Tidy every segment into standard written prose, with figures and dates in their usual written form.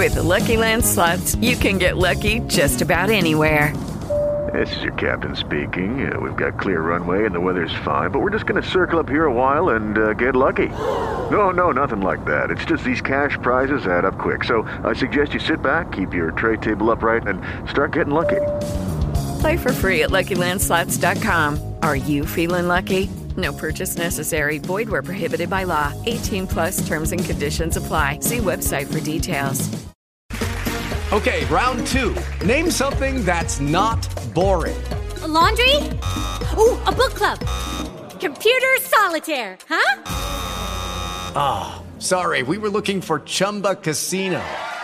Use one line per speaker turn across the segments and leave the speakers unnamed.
With the Lucky Land Slots, you can get lucky just about anywhere.
This is your captain speaking. We've got clear runway and the weather's fine, but we're just going to circle up here a while and get lucky. No, nothing like that. It's just these cash prizes add up quick. So I suggest you sit back, keep your tray table upright, and start getting lucky.
Play for free at LuckyLandSlots.com. Are you feeling lucky? No purchase necessary. Void where prohibited by law. 18 plus terms and conditions apply. See website for details.
Okay, round two. Name something that's not boring.
A laundry? Ooh, a book club. Computer solitaire, huh?
Ah, sorry, we were looking for Chumba Casino.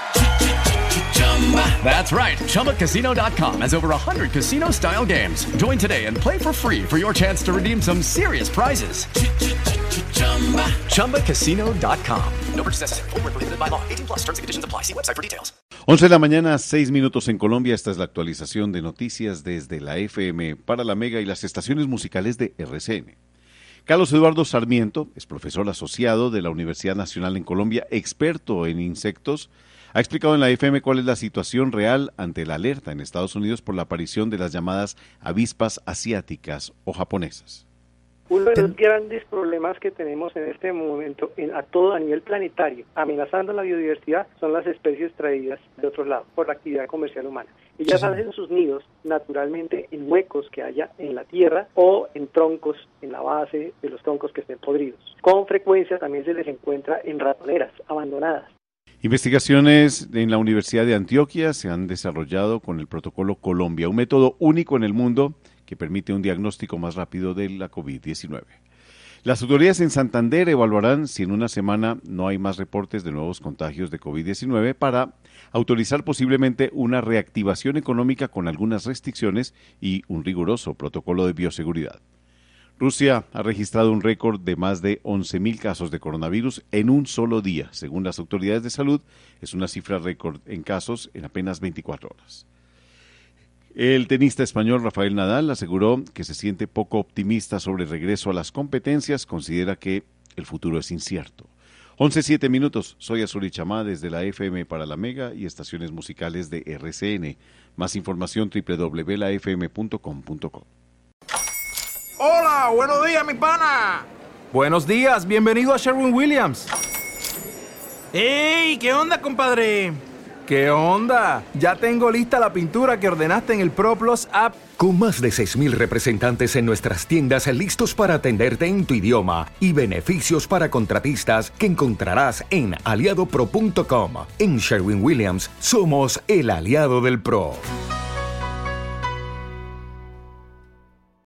That's right, ChumbaCasino.com has over 100 casino-style games. Join today and play for free for your chance to redeem some serious prizes. ChumbaCasino.com. No purchase necessary. Void where prohibited by law. 18 plus terms and conditions apply. See website for details.
11 de la mañana, 6 minutos en Colombia. Esta es la actualización de noticias desde la FM para la Mega y las estaciones musicales de RCN. Carlos Eduardo Sarmiento es profesor asociado de la Universidad Nacional en Colombia, experto en insectos. Ha explicado en la FM cuál es la situación real ante la alerta en Estados Unidos por la aparición de las llamadas avispas asiáticas o japonesas.
Uno de los grandes problemas que tenemos en este momento a nivel planetario, amenazando la biodiversidad, son las especies traídas de otros lados por la actividad comercial humana. Ellas hacen sus nidos naturalmente en huecos que haya en la tierra o en troncos, en la base de los troncos que estén podridos. Con frecuencia también se les encuentra en ratoneras abandonadas.
Investigaciones en la Universidad de Antioquia se han desarrollado con el protocolo Colombia, un método único en el mundo que permite un diagnóstico más rápido de la COVID-19. Las autoridades en Santander evaluarán si en una semana no hay más reportes de nuevos contagios de COVID-19 para autorizar posiblemente una reactivación económica con algunas restricciones y un riguroso protocolo de bioseguridad. Rusia ha registrado un récord de más de 11.000 casos de coronavirus en un solo día. Según las autoridades de salud, es una cifra récord en casos en apenas 24 horas. El tenista español Rafael Nadal aseguró que se siente poco optimista sobre el regreso a las competencias, considera que el futuro es incierto. 11:07 minutos, soy Azuri Chamá desde la FM para la Mega y estaciones musicales de RCN. Más información www.lafm.com.co.
Hola, buenos días, mi pana.
Buenos días, bienvenido a Sherwin-Williams.
¡Ey! ¿Qué onda, compadre?
¿Qué onda? Ya tengo lista la pintura que ordenaste en el ProPlus app.
Con más de 6,000 representantes en nuestras tiendas listos para atenderte en tu idioma y beneficios para contratistas que encontrarás en aliadopro.com. En Sherwin-Williams somos el aliado del pro.